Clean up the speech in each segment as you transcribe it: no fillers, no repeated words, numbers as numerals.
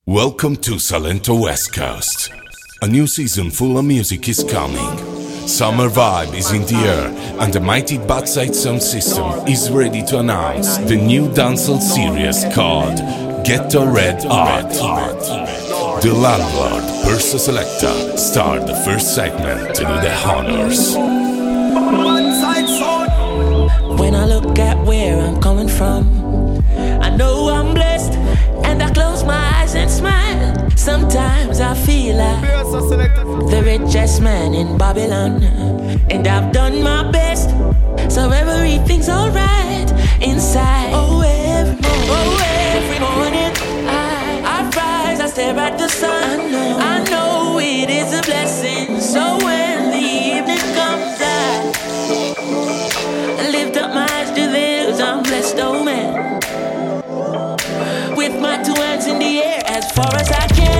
Welcome to Salento West Coast. A new season full of music is coming. Summer vibe is in the air, and the mighty Badside Sound System is ready to announce the new dancehall series called Ghetto Red Art. The Landlord Perso Selecta start the first segment to do the honors. When I look at where I'm coming from, I know I'm blessed, and I close my eyes and smile. Sometimes I feel like the richest man in Babylon, and I've done my best, so everything's alright inside. Oh, every morning I rise, I stare at the sun. I know it is a blessing. So when the evening comes, I lift up my eyes to the hills. I'm blessed, oh man, with my two hands in the air as far as I can.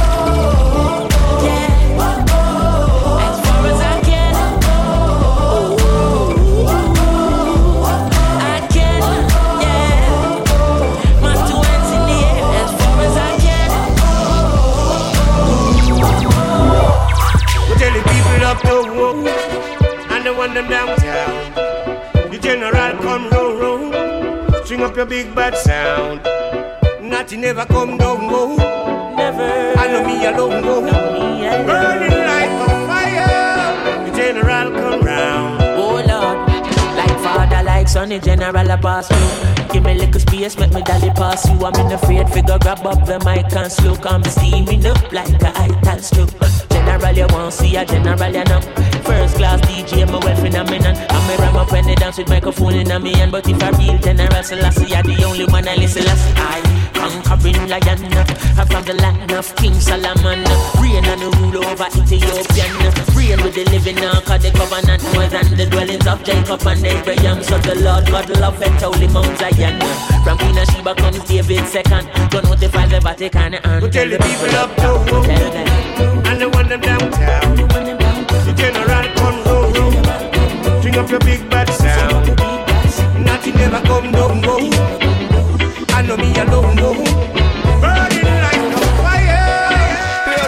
And the one them downtown. The general come roll, string up your big bad sound. Natty never come down, go. Never. I know me alone, go. Burning like a fire. The general come round. Oh Lord, like father, like son, the general a pass through. Give me little space, make me dolly pass you. I'm in afraid figure, grab up the mic and slow. Come steaming up like a ital stew. General you want see a general you know. First class DJ, my well phenomenon. I'm a ram up when they dance with microphone in my hand. But if a real general Selassie, you're the only one I listen last. I conquering lion, I'm from the land of King Solomon. Reign and rule over Ethiopian. Reign with the living now, cause the covenant more than the dwellings of Jacob and Abraham. So the Lord God love and holy Mount Zion. From Queen of Sheba comes David second. Don't notify the Vatican and tell the people up to tell them. And the one them downtown. The general come roll, string up your big bad sound. Nothing never come down, go. I know me alone, go. Burning like a fire.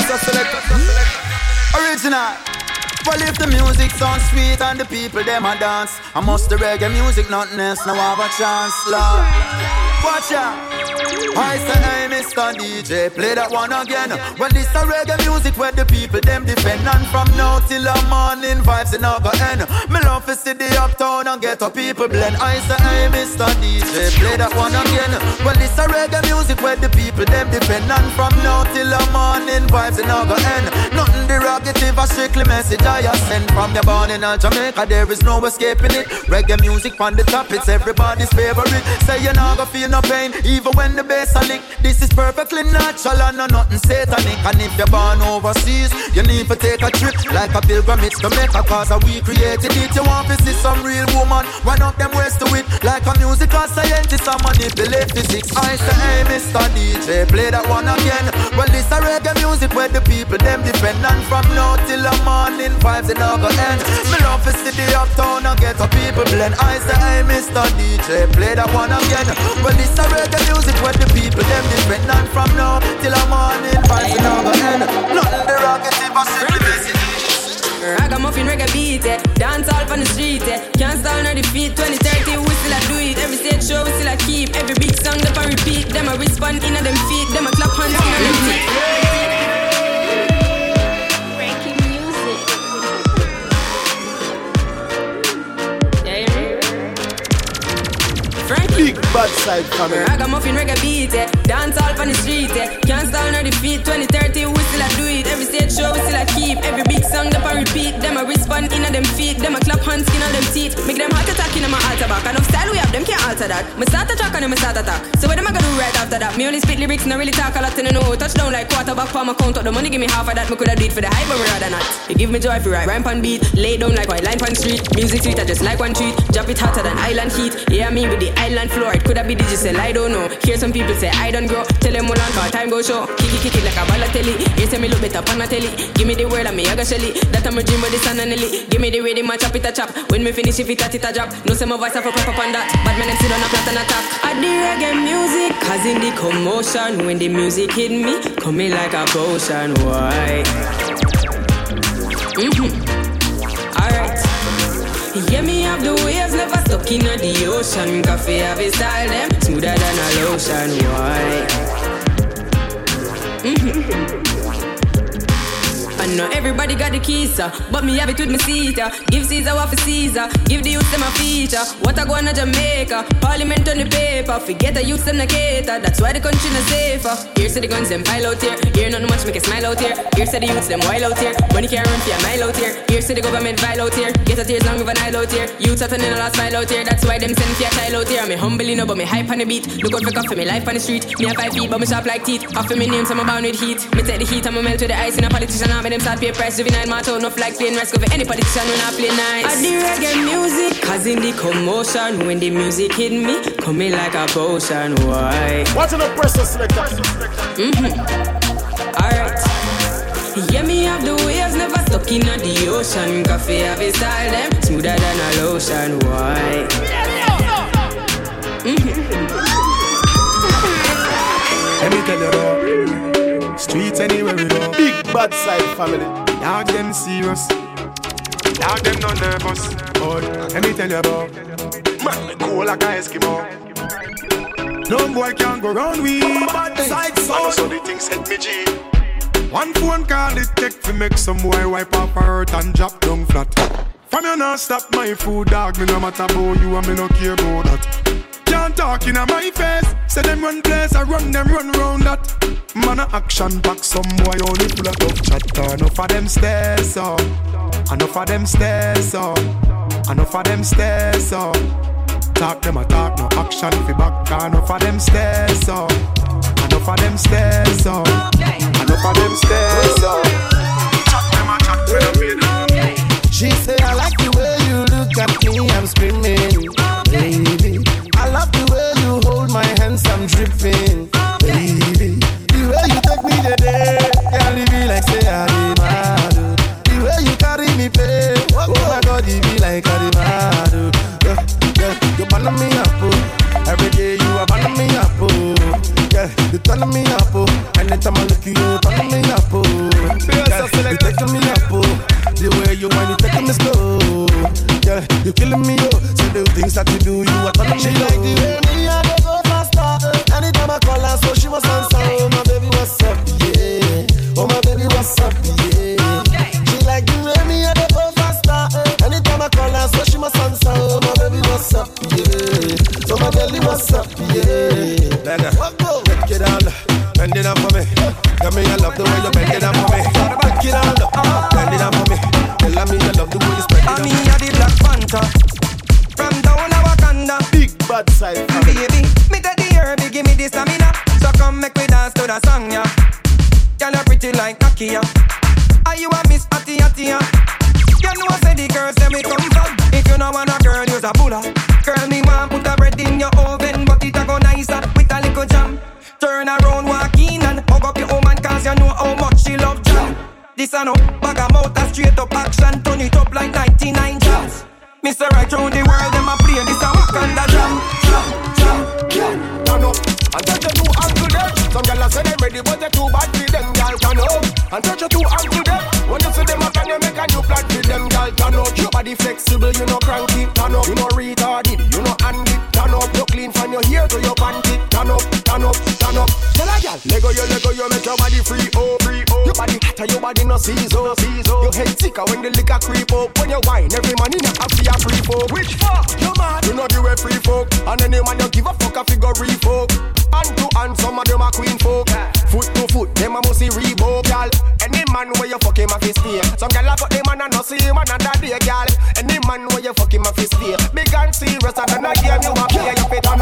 Original. Well, if the music sounds sweet and the people them a dance, I must the reggae music nothing else now have a chance, Lord. Watch out. I say, hey, Mr. DJ, play that one again. Well, this a reggae music where the people them defend. And from now till the morning, vibes in our end. Me love to see the uptown and get a people blend. I say, hey, Mr. DJ, play that one again. Well, this a reggae music where the people them defend. And from now till the morning, vibes in our end. Nothing derogative, a strictly message I send. From your born in Jamaica, there is no escaping it. Reggae music on the top, it's everybody's favorite. Say you're not gonna feel no pain, even when the bass a lick. This is perfectly natural and nothing satanic. And if you're born overseas, you need to take a trip like a pilgrimage to Mecca, cause we created it. You want to see some real woman, run up them ways to it. Like a musical scientist, I manipulate physics. I say, hey, Mr. DJ, play that one again. Well, this a reggae music where the people them defend. And from now till the morning, vibes in our end. Me love to see the uptown and get a people blend. I say, hey, Mr. DJ, play that one again. Well, this a reggae music where the people them different. And from now till the morning, vibes in our end. Nothing derogative or simple. Ragamuffin reggae beat, dance all on the street, can't stall nor defeat. 2030 we still a do it, every stage show we still a keep. Every big song them a repeat, them a respond in a them feet, them a clap hands in a them teeth. Breaking music. Frankie. Big bad side coming. Ragamuffin reggae beat, dance all on the street, can't stall nor defeat. 2030 we still a do it, every stage show we still a keep. Every big song them a repeat, them a respond in a them feet, them a clap hands in a them teeth. Make them heart attack in a my altar back. Enough style we have, them can't alter that. Me start a track and me start attack. So what am I gonna do right after that? Me only spit lyrics, not really talk a lot in the know. Touchdown like quarterback for my count up the money, give me half of that. Me coulda do it for the hype, but me rather not. You give me joy if you ride, rhyme pan beat, lay down like white line pan street. Music sweet, I just like one treat. Drop it hotter than island heat. Yeah, me with the island floor, it could I be digital? I don't know. Hear some people say I don't grow. Tell them all on car time go show. Kick it like a Balotelli. You say me look better on a telly. Give me the word and me I got Shelly. That I'm a dream with the sun and Nelly. Give me the rhythm and chop it a chop. When me finish if it a drop. No say my voice have a pop up on that. But man, I'm sit on a flat and a top. I the reggae music, causing the commotion. When the music hit me, coming like a potion. Why? Alright. Yeah, me have the waves, never stuck in the ocean. Coffee have a style, them smoother than a lotion. Why? I know everybody got the keys, but me have it with me Caesar. Give Caesar what for Caesar. Give the youth them a feature. What I go on to Jamaica? Parliament on the paper. Forget the youth them a cater. That's why the country not safer. Here say the guns them pile out here. Here nothing much make a smile out here. Here say the youths them wild out here. Money can't run for a mile out here. Here say the government vile out here. Get a tears long with an aisle out here. Youths are turning a last mile out here. That's why them send for a child out here. Me humble enough but me hype on the beat. Look out for coffee, me life on the street. Me have 5 feet but me sharp like teeth. Off for me name so I'm bound with heat. Me take the heat and me melt with the ice. In a politician arm them start pay price. Juvenile matter enough like playing risk over any politician when I play nice. I the reggae music, causing the commotion. When the music hit me, coming like a potion. Why? What's in the press selector? Alright. Yeah, me have the waves, never stuck in the ocean. Coffee have a style, them smoother than a lotion. Why? Let me tell you though, streets anywhere we go. Big bad side family. Dog them serious, dog them not nervous. But let me tell you about, man, me cool like a Eskimo. No boy can go round we bad side sound. So the things hit me G. One phone call it take to make some boy wipe up her hurt and drop down flat. From you not stop my food, dog. Me no matter about you and me no care about that. Can't talk in my face. Say them run place, I run them run round that. Man a action back, some boy only full of tough chatter. Enough of them stairs up, enough of them stairs up, enough of them stairs up. Talk them a talk, no action fi back. Enough of them stairs up, enough of them stairs up, enough of them stairs up. Chat them a chat when I'm in. She say I like the way you look at me, I'm screaming, baby. I love the way you hold my hands, I'm dripping, baby. The way you take me today, can't leave me like say I'm mad. The way you carry me pay, oh my God, you be like I'm mad. Yeah, you burn me up, oh. Every day you are burn me up, oh. Yeah, you turn me up, oh. Anytime I look you, you turn me up, oh. Yeah, you taking me up, oh. The way you want, you taking me slow. Yeah, you killing me, oh. So the things that you do, you are turning me. She like the way me and they go faster. Anytime I call her, so she must answer. Oh my baby, what's up? Yeah. Oh my baby, what's up? Yeah. She like the way me and they go faster. Anytime I call her, so she must answer. Oh my baby, what's up? Yeah. Oh my baby, what's up? Yeah. Break it down, bend it up for me. Tell me I love the way you bend it up for me. Break it down, bend it up for me. Tell me I love the way you spread it up. I mean, I the Black Panther from down a Wakanda. Big bad side family. Baby, me take the herb, give me the stamina. So come make me dance to the song, yeah. Girl, you pretty like Nakia. Are you a Miss Atty Atty? You know I say the girls say me come from. If you know want a girl, use a bulla. Girl, me want put a bread in your oven, but it a go nicer with a little jam. Turn around, walk in and hug up your woman, cause you know how much she love jam. This a no bag of mouth, a straight up action. Turn it up like 99 jams. Mr. Right round the world, them a play this a Wakanda jam. Turn up and touch your two hands to them. Some gyal say them ready, but they too bad for them. Gyal turn up and touch your two hands to them. When you see them up and you make a new plan for them. Gyal turn up, your body flexible, you know cranky. Turn up, you know retarded, you know handy. Turn up, you clean from your hair to your panty. Turn up, turn up, turn up. Tell a gyal, Lego, you make your body free, oh, free, oh. Your body hotter, your body no season, season. Your head sicker when the liquor creep up. When you wine, every man in a happy a free folk. Which fuck? You mad? You know the way free folk. And any man you give a fuck a figure free folk. Hand to hand, some of them are queen folk. Foot to foot, them a must see Reebok, y'all. Any man where you fuck him a fist here. Some gyal a got them and no see him another day, y'all. Any man where you fuck him a fist here. Big and serious and a game you a play, you fit turn up.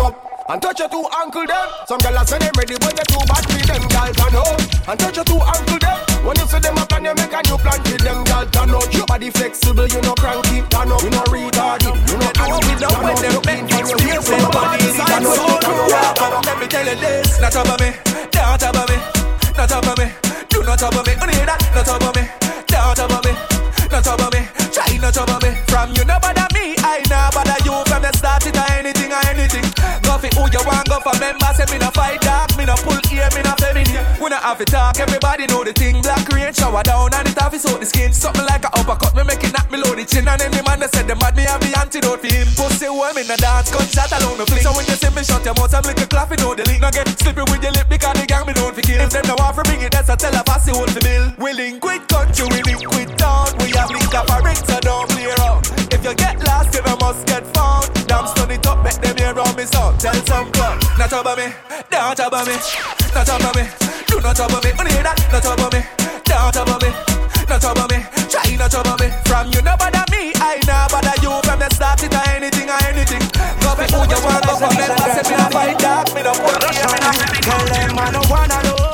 And touch your two ankle them. Some girls say them ready when they too bad for them girls turn out. And touch your two ankle them. When you see them up and you make a new plan for them girls turn out. Your body flexible, you no cranky, turn up. You no retarded, you no active, turn up. When them make me experience your body inside so true. Let me tell you this, not about me, not about me, not about me. Do not about me, only that, not about me, not about me, not about me. Try not about me. From you no bother me, I no bother you. From the start it or anything or anything. Go for who you want, go for members. Say me no fight dark, me no pull ear, me no feminine. We no have to talk, everybody know the thing. Black rain shower down and it have his out the skin. Something like a uppercut, me make it knock me low the chin. And any man that said the mad me have the antidote for him. Pussy warm in the dance, gunshot along the fling. So when you see me shut your mouth, I'm like a clap, you know the link. Now get slippery with your lip because the gang me don't fi kill. If them no want to bring it, that's a tell a fussy hold the bill. We link with country, we link with town. We have link up a ring, so don't play around. If you get lost, you must get found. Damn, stun it up, make them hear around me sound. Tell some club, not about me, don't about me, not about me. Do not about me, only that, not about me, don't about me, not about me. Try not about me. From you no bother me, I no bother you. From the start it or anything or anything. Go for who you want, go for members. Say me no fight dark, me no put here, me no. Tell them I no one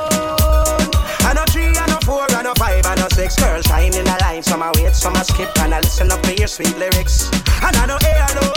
alone. I no 3, I no 4, I no 5, I no 6. Girls shine in the line, some I wait, some I skip, and I listen up to your sweet lyrics. And I no A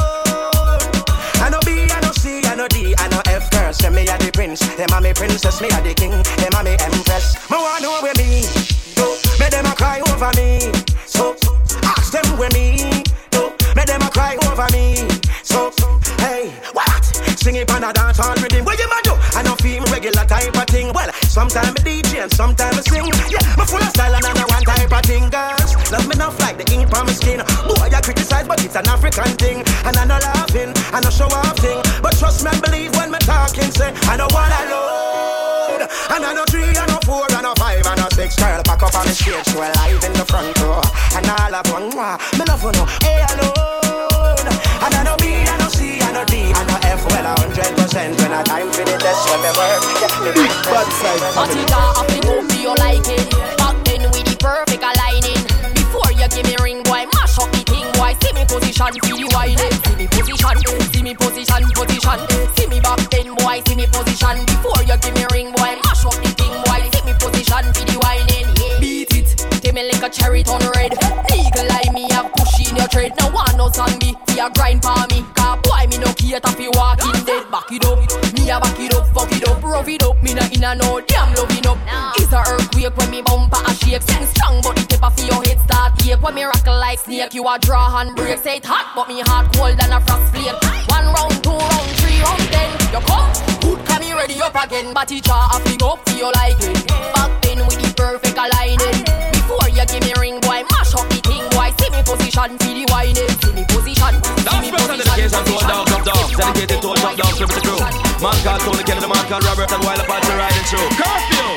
alone. I no B, I no C, I no D, I no F. Girls say me a the prince, them a me princess, me a the king, them a me empress. Me want know where me, so make them a cry over me. So ask them where me, so make them a cry over me. So hey, what? Sing it on a dance hall rhythm. What you man do? I no feel regular type of thing. Well, sometimes I DJ and sometimes I sing. Yeah, me full of style and I know one type of thing. Girls, love me enough like the ink on my skin. Boy, I criticize, but it's an African thing. And I no laughing, I no show off thing. But trust me and believe when me talking, say I know what I load. And I know 3, I know 4, I know 5, I know 6. Girl, back up on the stage, so live in the front row. And all of one, me love you know, hey alone. And I know B, I know C, I know D, I know F. Well, 100% when I time for the test, when me work, get me big bad side. But it have to go for you like it. Back then with the perfect aligning. Before you give me ring, boy, mash up the thing, boy. See me position, feel the whining. See me position, see me position, position. See me back then, boy, see me position. Before you give me ring, boy, mash up the thing, boy. See me position, feel the whining. Yeah. Beat it, take me like a cherry turn red. Legal like me, have push in your trade. No one no song be, fi a grind for me. Cause boy, me no cater fi walking dead. Back it up, me a back it up, fuck it up, rough it up. Me no in a no damn loving up. It's a earthquake when me bumper a shake. Sing strong, but the tip of your head start ache. When me rockle like snake, you a draw and break. Say it hot, but me heart cold than a frost flake. 1 round, 2 round, 3 round, 10. You come, good, come me ready up again. But teacher a fling up, feel like it. Back then with the perfect aligning. Before you give me ring, boy, mash up the thing, boy. See me position, feel the whining. See me position, see me position. Dedication to all dogs of dogs. Dedicated to all top dogs, with the crew. Man called Tony Kelly, the man called Robert, and while apart to riding through. Curfew!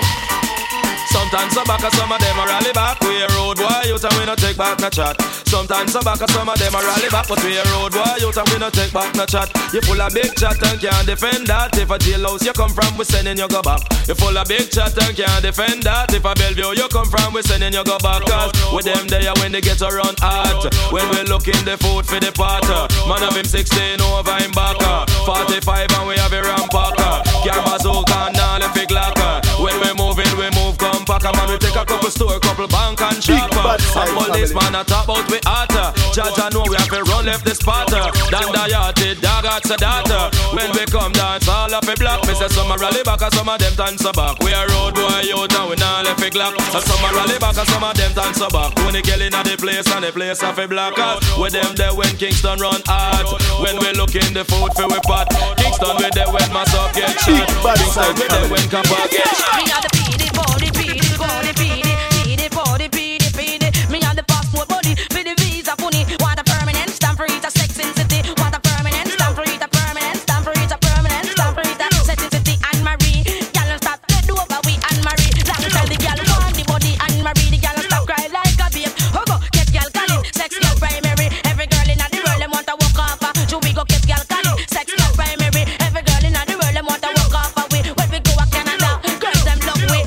Sometimes some back and some of them a rally back. We a road boy youth and we no take back no chat. Sometimes some back and some of them a rally back, but we a road boy youth and we no take back no chat. You full of big chat and can't defend that. If a jailhouse you come from, we sending you go back. You full of big chat and can't defend that. If a Bellevue you come from, we sending you go back. Cause with them there when they get around hot. When we looking the food for the pot. Man of him 16 over him back. 45 and we have a rampacker. Camera Zoka and all the big locker. When we moving, we move come pack. Man we take a couple store, couple bank and shop. And policeman a talk about we hotter. Judge I know we have to run left the spotter. Dan the yachty, dog at the data. When we come dance all of a block. Me say some a rally back and some of them dance back. We a road boy youth and we not left a glock. And some a rally back and some of them dance back. When they get in at the place and the place of a block out. With them there when Kingston run hard. When we look in the food for we pot. Kingston with them when my sub get shot. Kingston with them when Kappa get shot. Me and the beady, body, beady, body, beady, beady, body, beady, beady. Me and the passport body, for the visa funny. Want a permanent stamp for it, a sex in city. Want a permanent stamp for it, a permanent stamp for it, a permanent stamp for it, a sex in city. Anne Marie, girl stop dead over we Anne Marie. Long tell the girl want the body Anne Marie. The girl stop cry like a babe. Go get girl calling, sex girl primary. Every girl in the world them want to walk off. So we go get girl calling, sex girl primary. Every girl in the world them want to walk off. When we go to Canada, girls them love we.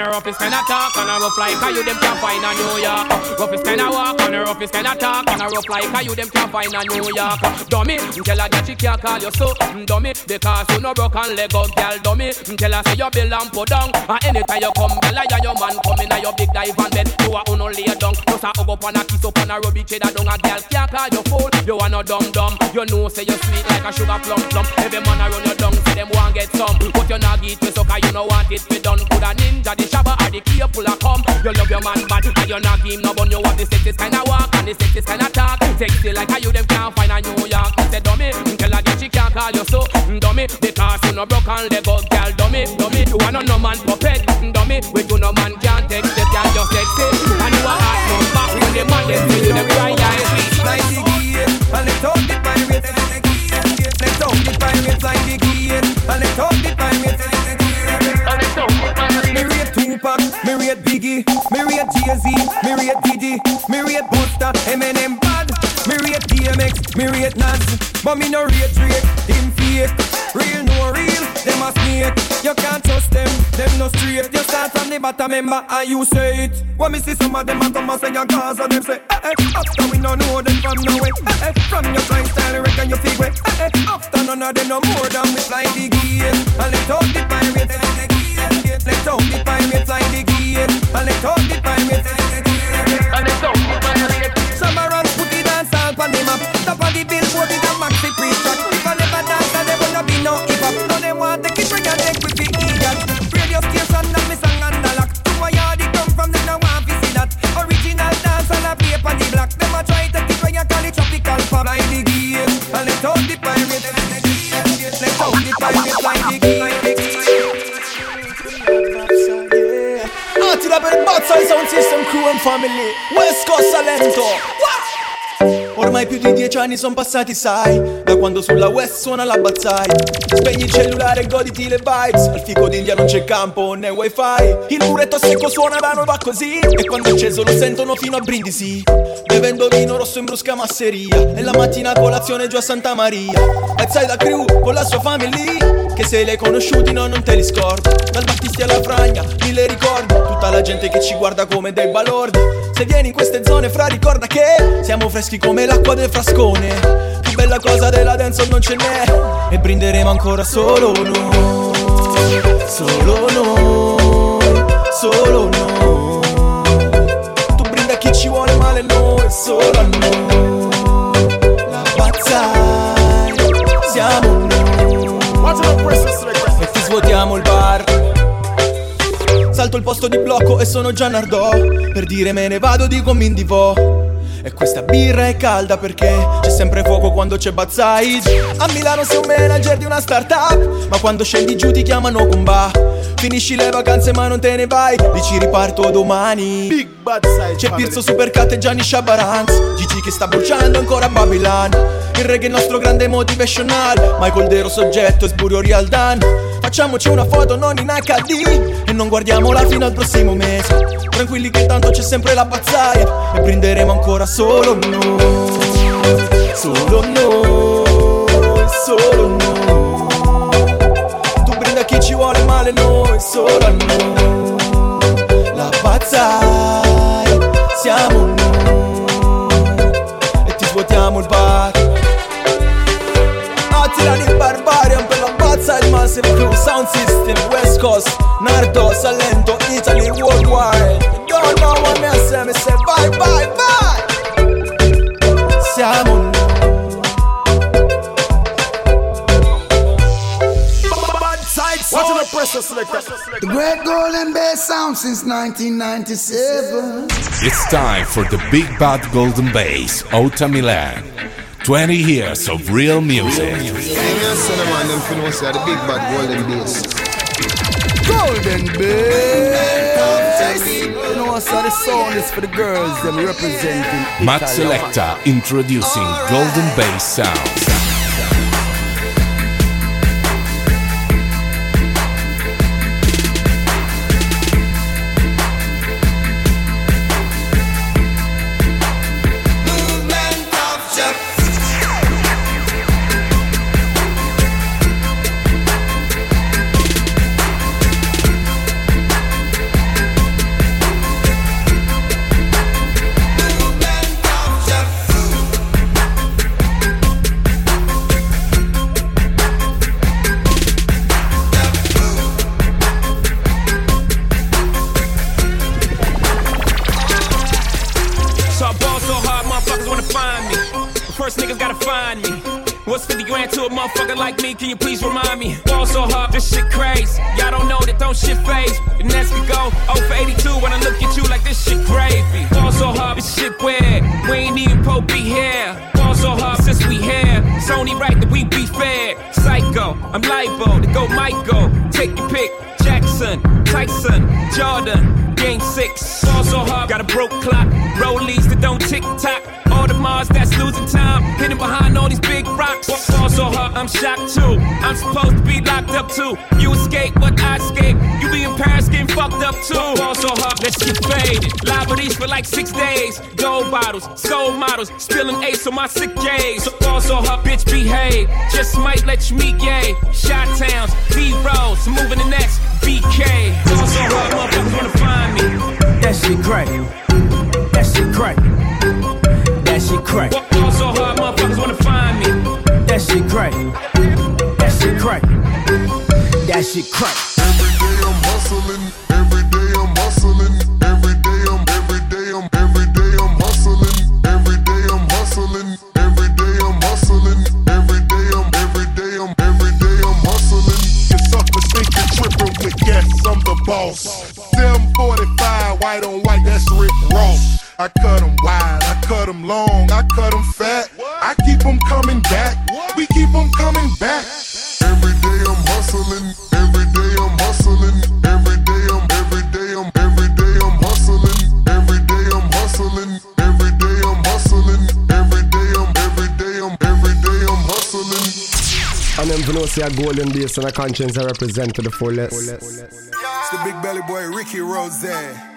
the roughest kind of talk and a rough like how you them can't find a New York. Roughest kind of walk and the roughest kind of talk and a rough like how you them can't find a New York. Dummy, tell her that she can't call you so dummy because you no broke and leg up, girl. Dummy, tell her say you bill and put down. And anytime you come, girl, I your man come in a your big dive and bed. You a uno lay down, just a hug up and a kiss up and a rub each other down. A girl can't call you fool. You a no dumb. You know say you sweet like a sugar plum. Every man around your down say them want get some, but you not get me so cause you no want it be done. Coulda ninja, the shabba or the key pull a come. You love your man bad and you not give him no bun. You want the sexiest kind of walk and the sexiest kind of talk. Sexy like how you them can't find a New York. Say dummy, tell her that she can't call you so dummy because you no broke and leg up, girl. Dummy, you a no man puppet. Dummy, with you no man can't take the girl just sexy. And you a hot number when the man them see you them cry like like the gear. And they talk the pirates and they talk the pirates like the gear. And they talk the pirates and they me rate Tupac, me rate Biggie, me rate Jay-Z, me rate Diddy, me rate Busta, Eminem bad, me rate DMX, me rate Nas, but me no rate Drake, him fake, real no real, them a snake. You can't trust them no straight. You start from the bottom member and you say it. When me see some of them a come and say your cause and them say after we no know them from nowhere. From your kind style reckon you fig way. After none of them no more than we fly the gate. And they talk the pirates and they let's talk the pirates like the gate. And they talk the pirates and they talk the pirates. Some around put the dance all on the map. Top of the billboard is a maxi pre-track. If I never dance and there will not be no hip-hop. No they want take it bring and take with the idiot. Radio station and me song and the lock. To my yard it come from them now want to see that. Original dance and a play on the block. Them a try take it when you call it tropical pop. Like the gate. And they talk the pirates. Let's talk the pirates like the gate. To the bad side sound system crew and family West Coast Salento. Ormai più di 10 anni sono passati, sai, da quando sulla West suona la bazzai. Spegni il cellulare e goditi le vibes. Al fico d'India non c'è campo né wifi. Il muretto secco suona da noi va così. E quando è acceso lo sentono fino a Brindisi. Bevendo vino rosso in brusca masseria. E la mattina colazione giù a Santa Maria. Bazzai da crew con la sua family. Che se li hai conosciuti no, non te li scordo. Dal Battisti alla Fragna, mille ricordi. Tutta la gente che ci guarda come dei balordi. Se vieni in queste zone fra ricorda che siamo freschi come l'acqua del frascone. Più bella cosa della dance non ce n'è. E brinderemo ancora solo noi. Solo noi. Solo noi. Tu brinda a chi ci vuole male, noi solo a noi. La bazzai siamo noi. E ti svuotiamo il bar. Salto il posto di blocco e sono già Nardò. Per dire me ne vado dico mi indivò. E questa birra è calda perché c'è sempre fuoco quando c'è bazzai. A Milano sei un manager di una startup, ma quando scendi giù ti chiamano comba. Finisci le vacanze ma non te ne vai, dici riparto domani. Big Bazzai. C'è Pirzo Supercat e Gianni Shabaranz, Gigi che sta bruciando ancora Babylon. Il reggae è il nostro grande motivational, Michael Dero soggetto e Sburio Real Dan. Facciamoci una foto non in HD e non guardiamola fino al prossimo mese. Tranquilli che tanto c'è sempre la bazzaia. E brinderemo ancora solo noi. Solo noi. Solo noi. Tu brinda a chi ci vuole male, noi solo a noi. La bazzai siamo noi. E ti svuotiamo il bar. Attirano il Barbarian per la bazza il Massive Crew Sound System West Coast, Nardo, Salento, Italy, worldwide. You don't know what me say bye bye bye. Siamo noi. The great Golden Bass sound since 1997. It's time for the Big Bad Golden Bass, Outta Milan. 20 years of real music. The Big Bad Golden Bass. Golden Bass. You know what's the song is for the girls them representing Matt Selecta introducing Golden Bass sounds. first niggas gotta find me. What's 50 grand to a motherfucker like me? Can you please remind me? Ball so hard, this shit crazy. Y'all don't know that don't shit phase. And as we go, 0 for 82 when I look at you like this shit gravy. Ball so hard, this shit weird. We ain't even po be here. Ball so hard since we here. It's only right that we be fair. Psycho, I'm liable to go Michael. Take your pick. Jackson, Tyson, Jordan, Game 6. Ball so hard, got a broke clock. Rollies that don't tick-tock. All the Mars that's losing time. Hidden behind all these big rocks. Ball so hard, I'm shocked too. I'm supposed to be locked up too. You escape, but I escape. You be in Paris getting fucked up too. Ball so hard, let's get faded. Liberties for like 6 days. Gold bottles, soul models. Spilling ace on my sick days. So ball so hard, bitch behave. Just might let you meet gay. Shot towns, D-Rolls, moving the next BK. Ball so hard, motherfuckers wanna find me. That shit crack. That shit crack. That shit crack. Ball so hard, motherfuckers wanna find me. That shit crack. That shit crack. That shit crack. Every day I'm hustling. Every day I'm hustling. Every day I'm hustling. Every day I'm hustling. Every day I'm hustling. Every day I'm hustling. Your suckers think you're tripping with yes, I'm the boss. 745, white on white, that's Rick Ross. I cut them wide, I cut them long, I cut them fat. I keep them coming back, we keep them coming back. Every day I'm hustling, every day I'm hustling, every day I'm hustling, every day I'm hustling, every day I'm hustling, every day I'm hustling. And them to know say a golden base and a conscience I represent to the fullest. It's the big belly boy Ricky Rose. Hey,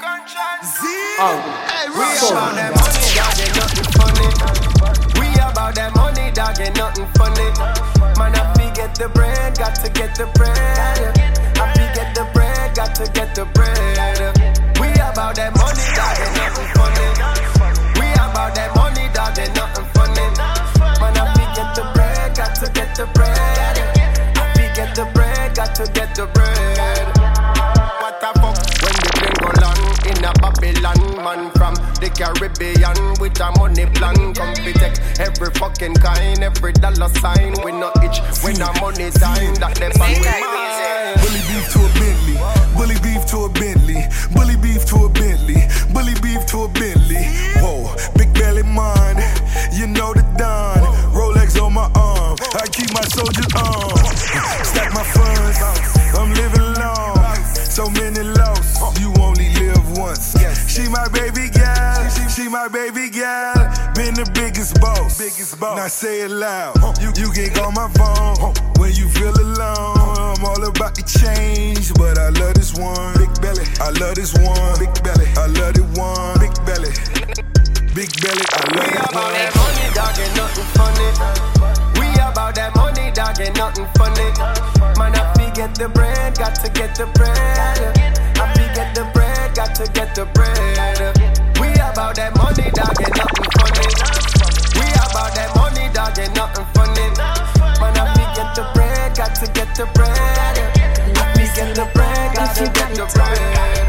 we about that money, dog, ain't nothing funny. We about that money, dog, ain't nothing funny. Man, I get the bread, got to get the bread. I get the bread, got to get the bread. We about that money, dog, ain't nothing funny. We about that money, dog, ain't nothing funny. Man, I get the bread, got to get the bread. I get the bread, got to get the bread. What the fuck when the plane go land in a Babylon? Man from the Caribbean with a money plan. Come we take every fucking kind, every dollar sign. We not itch when our money time. That them on we mind. Bully beef to a Bentley, bully beef to a Bentley, bully beef to a Bentley, bully beef to a Bentley. Whoa, big belly man, you know the Don. Rolex on my arm, I keep my soldiers on. Stack my funds, I'm living long. So many lost, you only live once. She my baby girl, she my baby girl. Been the biggest boss. Now say it loud. You can call my phone when you feel alone. I'm all about the change, but I love this one. Big belly, I love this one. Big belly, I love it one. Big belly, big belly, I love it one. We about that money, dog, ain't nothing funny. We about that money, dog, ain't nothing funny. Man, I get the bread, got to get the bread. I get the bread, got to get the bread. We about that money, dog, ain't nothing funny. We about that money, dog, ain't nothing funny. Man, I get the bread, got to get the bread. I get the bread, got to get the bread.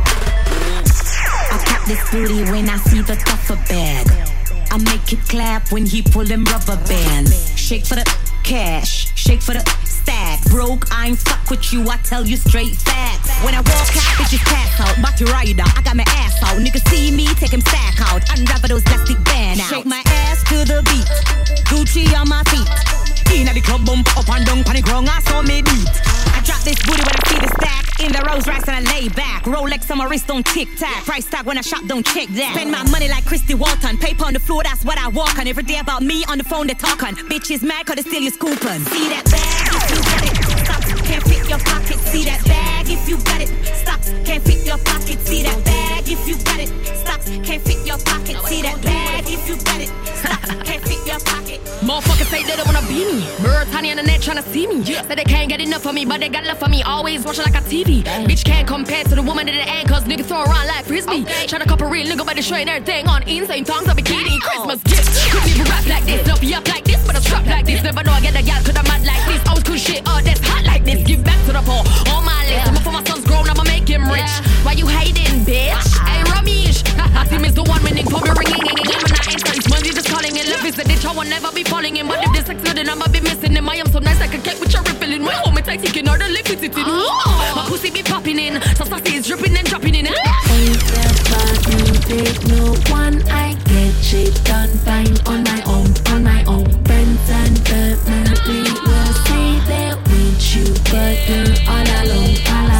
I pop this booty when I see the duffel bag. I make it clap when he pull them rubber bands. Shake for the cash, shake for the stack. Broke, I ain't fuck with you, I tell you straight facts. When I walk out, bitches pass out. Body rider, I got my ass out. Niggas see me, take him sack out. Unravel those plastic band out. Shake my ass to the beat, Gucci on my feet. Inna the club, bump up and down, panic wrong, I saw me beat. I drop this booty when I see the stack. In the Rolls Royce and I lay back. Rolex on my wrist, don't tic-tac. Price tag when I shop, don't check that. Spend my money like Christy Walton. Paper on the floor, that's what I walk on. Every day about me on the phone, they talk on. Bitches mad cause they steal your scoopin'. See that bag if you got it. Stop, can't fit your pocket. See that bag if you got it. Stop, can't fit your pocket. See that bag if you got it. Stop, can't fit your pocket. See that bag if you got it. Stop, can't fit your pocket. Motherfuckers say they don't wanna be me. Birds, honey on the net tryna see me. Say they can't get enough of me, but they got love for me. Always watching like a TV. Bitch can't compare to the woman in the end, cause niggas throw around like frisbee. Tryna cop a real nigga by the show and everything on insane tongues of bikini. Christmas gifts. Could people rap like this, don't be up like this, but I strap like this. Never know I get a gal cause I'm mad like this. Always cool shit, oh that's hot like this. Give back to the poor, on my list. I'm for my son's grown, I'ma make him rich. Why you hating, bitch? Hey, Ramesh. I see Mr. One minute, pop your ringing. I'm not instant, money just calling in love is the ditch. I wanna never be falling in. But if this sex no, then I'ma be missing him. I am so nice I can get with your rippling. My home it's like taking all the liquid it in. My pussy be popping in, so sassy is dripping and dropping in. Ain't that bad, you take no one. I get shit done fine on my own, on my own. Friends and family will say they're with you, but you're all alone,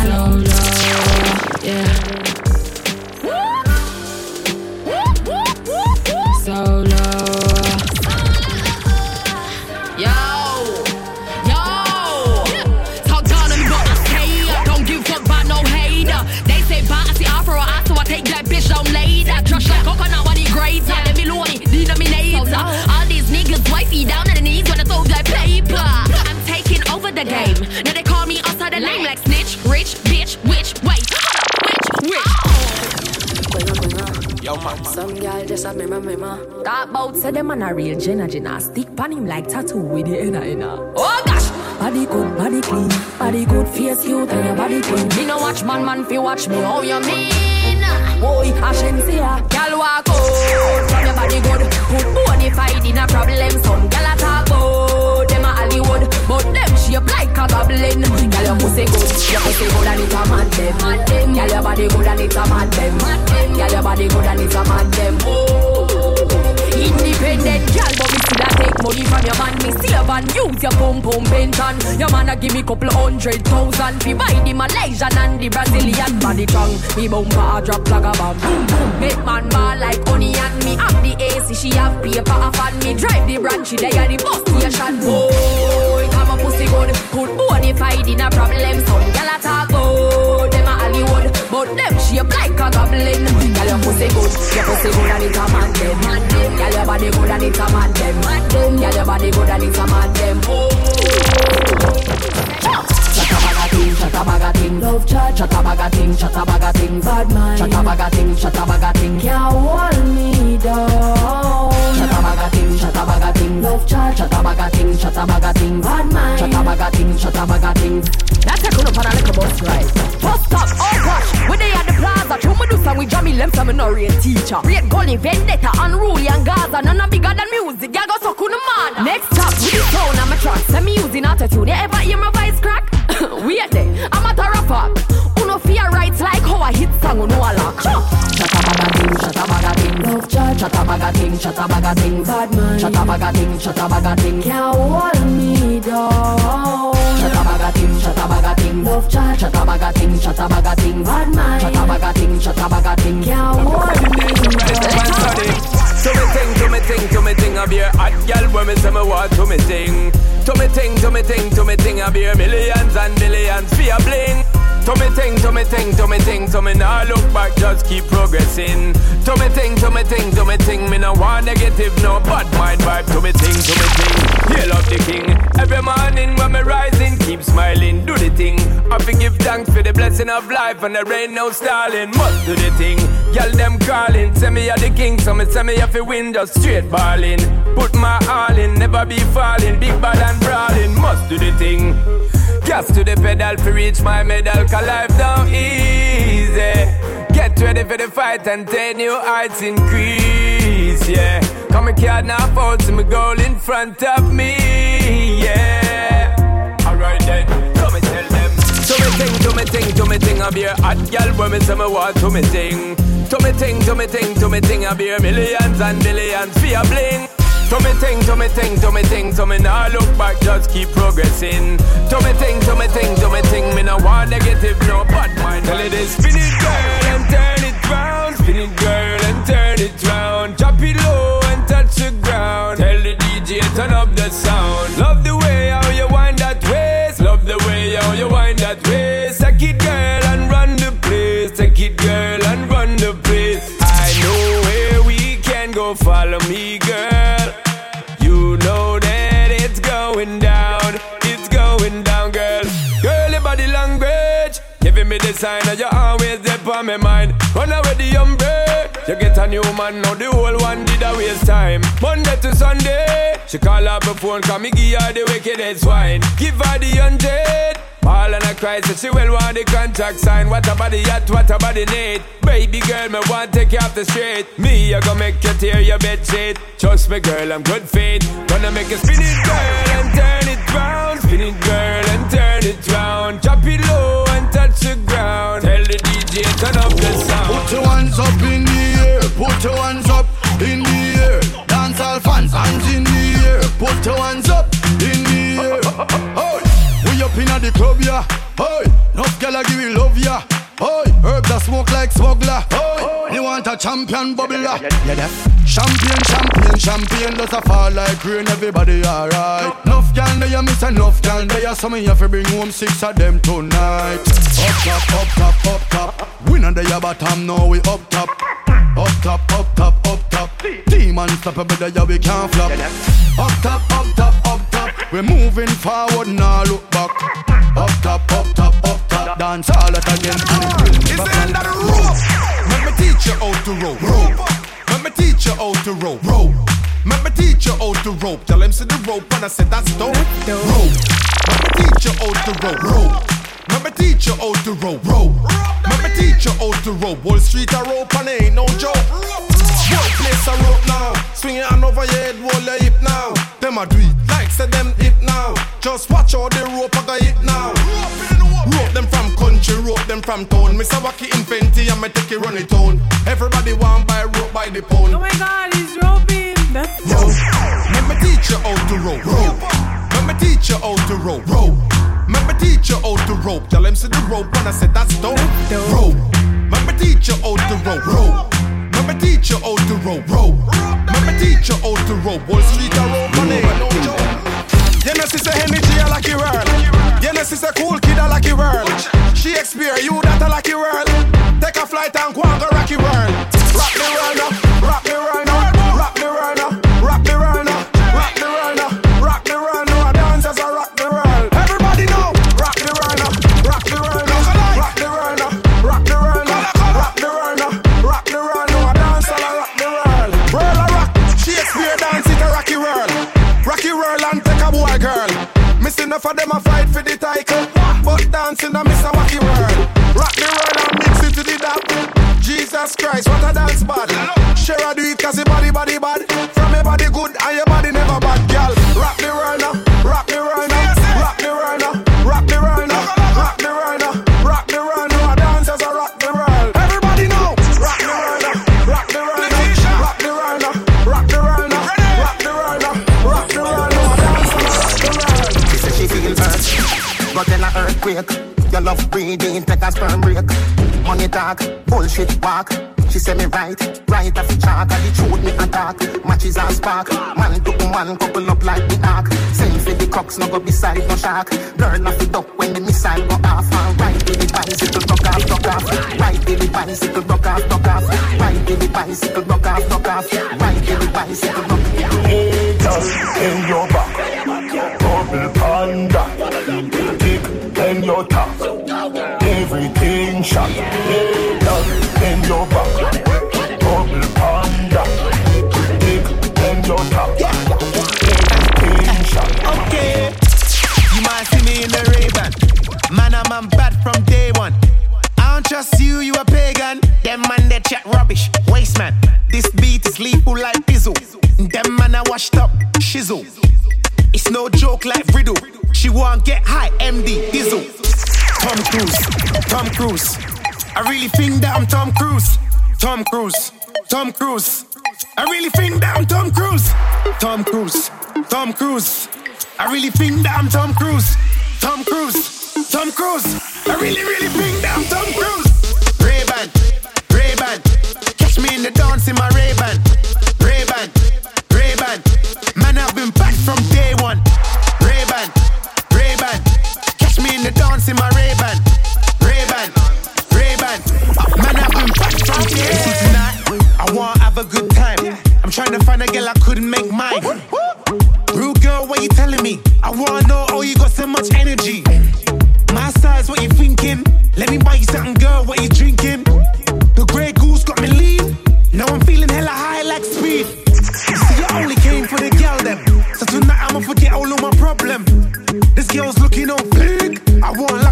yeah. Solo. Yo. Talk down on me, but I say don't give a fuck about no hater. They say bye, I see afro, I so I take that bitch down later. Crush like coconut, what he great. Let me load it, denominator. All these niggas wifey down on the knees when I throw that paper. I'm taking over the game. Now they call me outside the name like snitch, rich, bitch, witch, wait, which? Yo, man. Some girl just a me. That bout say them man a real Jenna. Stick pan him like tattoo with the inna. Oh gosh! Body good, body clean. Body good, face cute and your body clean. Me no watch man fi watch me. How you mean? Boy, I shouldn't see ya. Girl walk out from your body good. Put bonafide in a problem. Some girl a talk about them a Hollywood, but them shape like a goblin. Girl your pussy good and it's a mad them. Girl your body good and it's a mad them. Girl your body good and it's a mad them. Independent girl, but me still a take money from your man. Me save and use your pum pension. Your man a give me couple 100,000 fi buy the Malaysian and the Brazilian body tongue. Me bumper a drop like a bomb. Boom boom, make man ball like honey and me have the AC. She have paper a fan. Me drive the branch, she there the bus station. Boy, come a pussy good, put bonafide in a problem. Some gyal a talk about them a Hollywood, but them shape like a goblin. Gyal your pussy good and it's a man them. Gyal your body good and it's a man them. Gyal your body good and it's a man them. Chattabaga ting, love chat, chattabaga ting, bad mind, chattabaga ting, can't hold me down. Chattabaga ting, love chat, chattabaga ting, bad mind, chattabaga ting. That's a good up on a little bus ride. Bus stop, oh gosh, when they at the plaza, true me do some with Jamie Lem, some no real teacher. Real gully, vendetta, unruly and Gaza, none of bigger than music, ya go so cool man. Next stop, with the sound on my track, send me using attitude, you ever hear my voice crack? Wait there, I'm at a rapper. Uno fear rights like how I hit song, uno a lock. Chattabaga ting, love chat, chattabaga ting, bad man, chattabaga ting, can't hold me down. Chattabaga ting, love chat, chattabaga ting, bad man, chattabaga ting, can't hold me down. To me ting, I be a hot girl when me say me want to me ting. To me ting, I be a millions and billions for a bling. To me ting, so me nah look back, just keep progressing. To me ting, me no want negative, no bad mind vibe. To me ting, hail up the king. Every morning when me rising, keep smiling, do the thing. I give thanks for the blessing of life and there ain't no stalling. Must do the thing, y'all them calling. Say me a the king, so me say me have to win, just straight balling. Put my all in, never be falling, big bad and brawling. Must do the thing. Gas to the pedal to reach my medal, cause life down easy. Get ready for the fight and 10 new heights increase, yeah. Come and card now fall, see my goal in front of me, yeah. Alright then, come and tell them. To me ting, I be a hot girl when me say me want to me ting. To me ting, I be a millions and billions for a bling. To me ting, so me nah look back, just keep progressing. To me ting, me nah want negative, no bad mind. Tell it is spin it girl and turn it round, spin it girl and turn it round. Drop it low and touch the ground. Tell the DJ turn up the sound. Love the way how you wind that waist, love the way how you wind that waist. Take it girl and run the place, take it girl and run the place. I know where we can go, follow me girl. You know that it's going down, girl. Girl, your body language giving me the sign that you're always there on my mind. Run away the umbrella, you get a new man, now the whole one did a waste time. Monday to Sunday, she call up her phone, come me give her the wickedest wine. Give her the 100, All and I cry, so she will want the contract sign. What a body at, what a body need. Baby girl, me want take you off the street. Me, I gonna make you tear your bed sheet. Trust me girl, I'm good feet. Gonna make you spin it girl and turn it round. Spin it girl and turn it round. Drop it low and touch the ground. Tell the DJ turn up the sound. Put your hands up in the air. Put your hands up in the air. Dance all fans, hands in the air. Put your hands up in the air. Oh, we up in the club, yeah. Oh, enough gyal give you love, yeah. Oh, herb that smoke like smuggler. Oh, you want a champion bubbler? Yeah, that champion does a fall like rain. Everybody alright. Enough gyal there, you miss enough gyal there. So me have to bring home 6 of them tonight. Up top, up top, up top. We not there bottom, now we up top. Up top, up top, up top. Team unstoppable, there we can't flop. Up top, up top, up top. We're moving forward, now look back. Up top, up top, up top. Dance all that again. It's the end of the rope. Let me teach you how to rope. Let me teach you how to rope. Let me teach you how to rope. Tell him see the rope and I said that's dope. Rope. Let me teach you how to rope. Let me teach you how to rope. Let me teach you how to rope. Wall Street a rope and it ain't no joke. Whole place a rope now. Swing your hand over your head, roll your hip now. Them a do it like say them hip now. Just watch how the rope a go hit now. Rope them from country, rope them from town. Mr. Wacky invent it and me take it run it town. Everybody want buy rope by the pound. Oh my God, he's roping. That's rope. Let me teach you how to rope. Let me teach you how to rope. Let me teach you how to rope. Tell him see the rope and I said that's dope. Rope. Let me teach you how to rope. Let me teach you how to rope. Let me teach you how to rope. Wall Street a rope and ain't no joke. You know she's a energy a lucky world. You know she's a cool kid a lucky world. Shakespeare, you that a lucky world. Take a flight and go and go rocky world. Rock the world now, rock the world now, rock the world now, rock the world now, rock the world now, rock the world now. Dancers a rock the world. Everybody know, rock the world now, rock the world now, rock the world now, rock the world now, rock the world now, rock the world now. Dancers a rock the world. World a rock. Shakespeare dance it a rocky world. Rocky world and take a boy girl. Missing enough of them a fight for the title, but dancing a miss a wacky world. Rock the world and mix it to the dap. Jesus Christ, what a dance bad. Share a do it cause your body bad. From your body good and your body never bad, girl. Rock the world now, rock the world now, rock the world now, rock the world now, rock the world now, rock the world now. Dancers a rock the world. Everybody know, rock the world now, rock the world now, rock the world now, rock the world now, rock the world now, rock the world now. Dancers rock the world. She said she feel hurt, but then a earthquake. Your love breathing, take a sperm break. Money talk, bullshit walk. She say me right off the chalk. And the truth me attack, matches and spark. Man to man, couple up like the ark. Same for the crooks, no go beside no shark. Burn off the duck when the missile go off. And right to the bicycle, rock off, rock off. Right to the bicycle, rock off, rock off. Right to the bicycle, rock off, rock off. Right to the bicycle, rock off. Hey, just in your back, double panda. Kick in your top, everything shot. Hey, just in your back, double panda. Kick in your top, everything shot. Okay, you might see me in the Ray-Ban. Man, I'm bad from day one. I don't trust you, you a pagan. Them man, they chat rubbish, waste man. This beat is lethal like Bizzle. Them man, I washed up, shizzle. It's no joke like Riddle. She won't get high, MD, Diesel. Tom Cruise. I really think that I'm Tom Cruise. Tom Cruise. I really think that I'm Tom Cruise. Tom Cruise. I really think that I'm Tom Cruise. Tom Cruise. I really think that I'm Tom Cruise. Ray-Ban. Catch me in the dance in my Ray-Ban. Man, I've been back from day one. Ray-Ban. Catch me in the dance in my Ray-Ban. Man, I've been back from day one. Tonight, I wanna have a good time. I'm trying to find a girl I couldn't make mine. Rude girl, what you telling me? I wanna know, oh, you got so much energy. My size, what you thinking? Let me buy you something, girl, what you drinking? The Grey Goose got me lean. Now I'm feeling hella high like speed. See, you only came for the girl them. So tonight I'ma forget all of my problem. This girl's looking on fleek. I want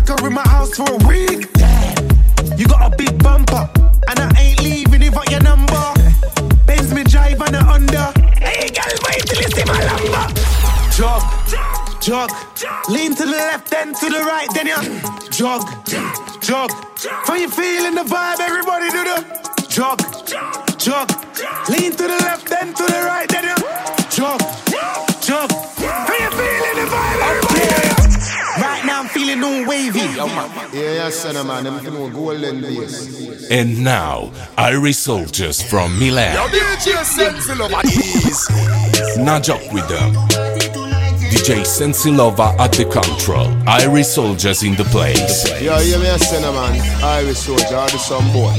jog. Lean to the left, then to the right, then you jog. From you feeling the vibe, everybody do the jog. Lean to the left, then to the right, then you jog. From you feeling the vibe, everybody do the right now I'm feeling all wavy. Yeah, son of man, I'm feeling golden days. And now, Irish Soldiers from Milan. Now joke with them. DJ Sensilova at the control. Irish Soldiers in the place. Yeah, you me a son of man. Irish Soldier, I'll do some boy.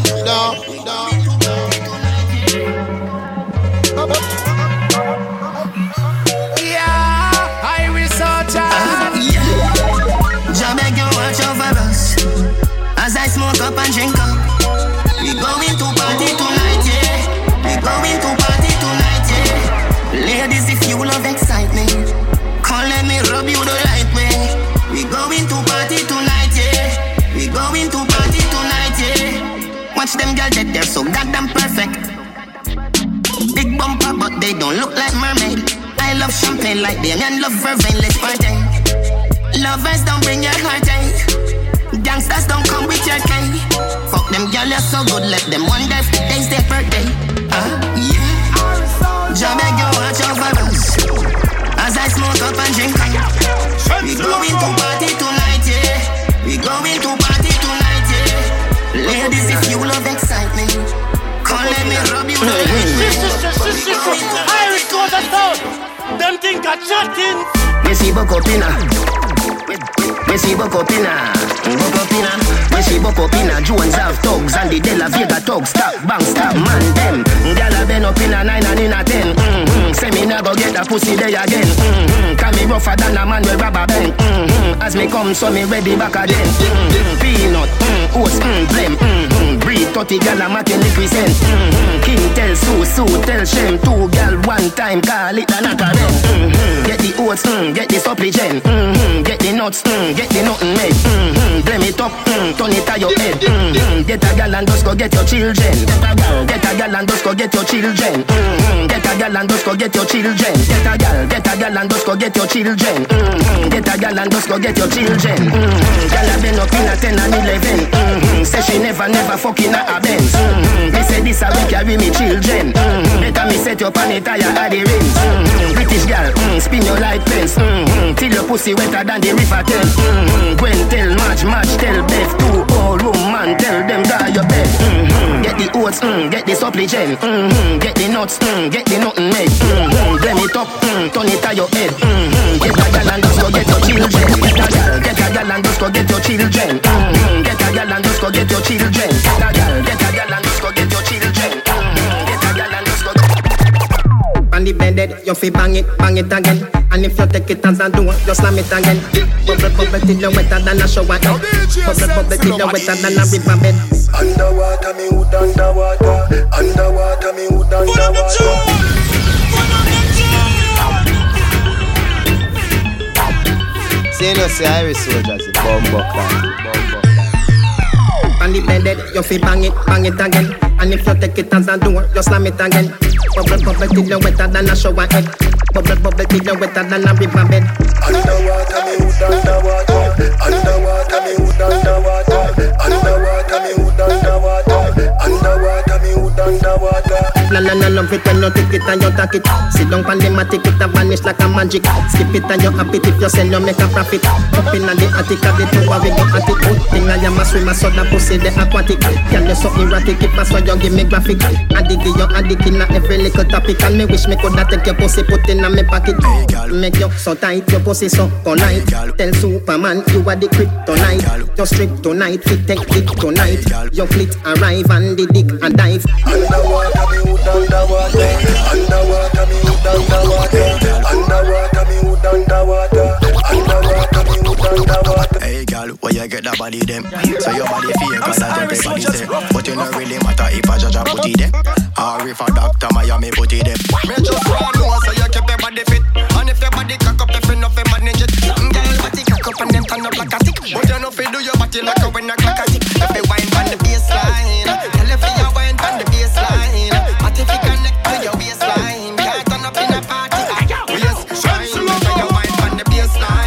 Yeah, Irish Soldier. Jah beg you watch over us as I smoke up and drink up. We going to party tonight, yeah. We going to party tonight, yeah. Ladies, if you love excitement, come let me rub you the right way. We going to party tonight, yeah. We going to party tonight, yeah. Watch them girls that they're so goddamn perfect. Big bumper, but they don't look like mermaid. I love champagne like them and love vervain. Let's party. Lovers don't bring your heartache. Gangsters don't come with your cake. Fuck them girls, you're so good. Let them wonder if today's their birthday. Yeah. Jah beg you watch over us as I smoke up and drink up. We going to party tonight, yeah. We going to party tonight, yeah. Ladies, if you love excitement, come let me rub you the Irish goes and down. Them think I chatting. We see Bokopina. We see Bokopina. We see Bokopina. Jones have thugs and the De La Vega thugs. Stop, bang, stop, man, them. Gyal been up in a 9 and in a 10. Say me never get a pussy there again. Can me rougher than a man with rubber band. As me come, so me ready back again. Peanut, oats, blem. Breed 30 gyal a making represent. King tell Sue tell Shem. 2 gyal one time, call it a knockerem. Get the oats, get the supplement. Get the nuts, get the nothing made. Blame it up, turn it to your head. Get a gal and just go get your children. Get a gal and just go get your children. Get a gal and just go get your children. Get a gal and just go get your children. Get a gal and just go get your children. Gal a been up in a 10 and 11. Say she never fucking a Benz. Me say this a week carry me children. Better me set up on it tire at the rims. British gal, spin your like pens. Till your pussy wetter than the river Thames. Gwen tell March tell Beth. 2 old room man tell them guy your bed. Get the oats, get the supplement. Get the nuts, get the nothing made. Blame it up, turn it to your head. Get a gal and just go get your children. Get a gal and just go get your children. Get a gal and just go get your children. Get a gal and just go get your children. Get a gal and just go. On the bed, you fi bang it again. And if you take it as a door, you slam it again. Bubble till you wetter than a shower head. Bubble till you wetter than a river bed. Underwater, me hood underwater. Underwater, me hood underwater. Say no, say Irish Soldiers, it's bomb. On the bed, you fi bang it again. And if you take it as a door, you slam it again. Bubble till you wetter than a shower head. Bubble till you wetter than a river bed. Underwater, me hood underwater. Underwater, me hood underwater. Underwater, me hood underwater. Underwater, me hood underwater. No, love it when you take it and you take it. Sit down pan the matic, it a vanish like a magic. Skip it and you happy if you sell, you make a profit. Up in the attic of the tower, we go at it. Good thing I am a swimmer, so the pussy the aquatic. Can you so erratic, it pass when you give me graphic. Addict in every little topic. And me wish me coulda take your pussy, put in a me pocket. Make you so tight, your pussy so polite. Tell Superman you are the kryptonite. Your strip tonight, fit take it tonight. Your fleet arrive and the dick and dive. Underwater, me hood underwater. Underwater, me hood underwater. Underwater, me hood underwater. Underwater, me hood underwater. Hey girl, where you get that body them? So your body feel cause everybody say. But you don't really matter if a judge a put it there. Or if a doctor Miami put it there. Me just want to know so you keep your body fit. And if your body cock up, if you know fi manage it. Girl, body cock up and then turn up like a stick. But you know fi do your body like a when a clock a tick. If you wine on the baseline, tell if you wine on the baseline. But if you connect to your waistline, can't turn up in a party. Waistline, if you wine on the baseline.